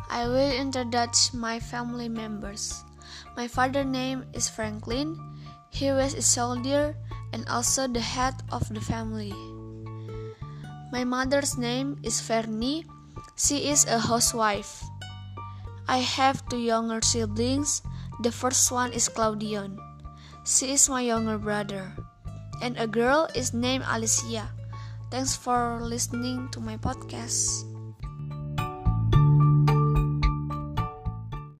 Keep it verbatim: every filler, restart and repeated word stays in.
I will introduce my family members. My father's name is Franklin. He was a soldier and also the head of the family. My mother's name is Fernie. She is a housewife. I have two younger siblings. The first one is Claudion. She is my younger brother. And a girl is named Alicia. Thanks for listening to my podcast.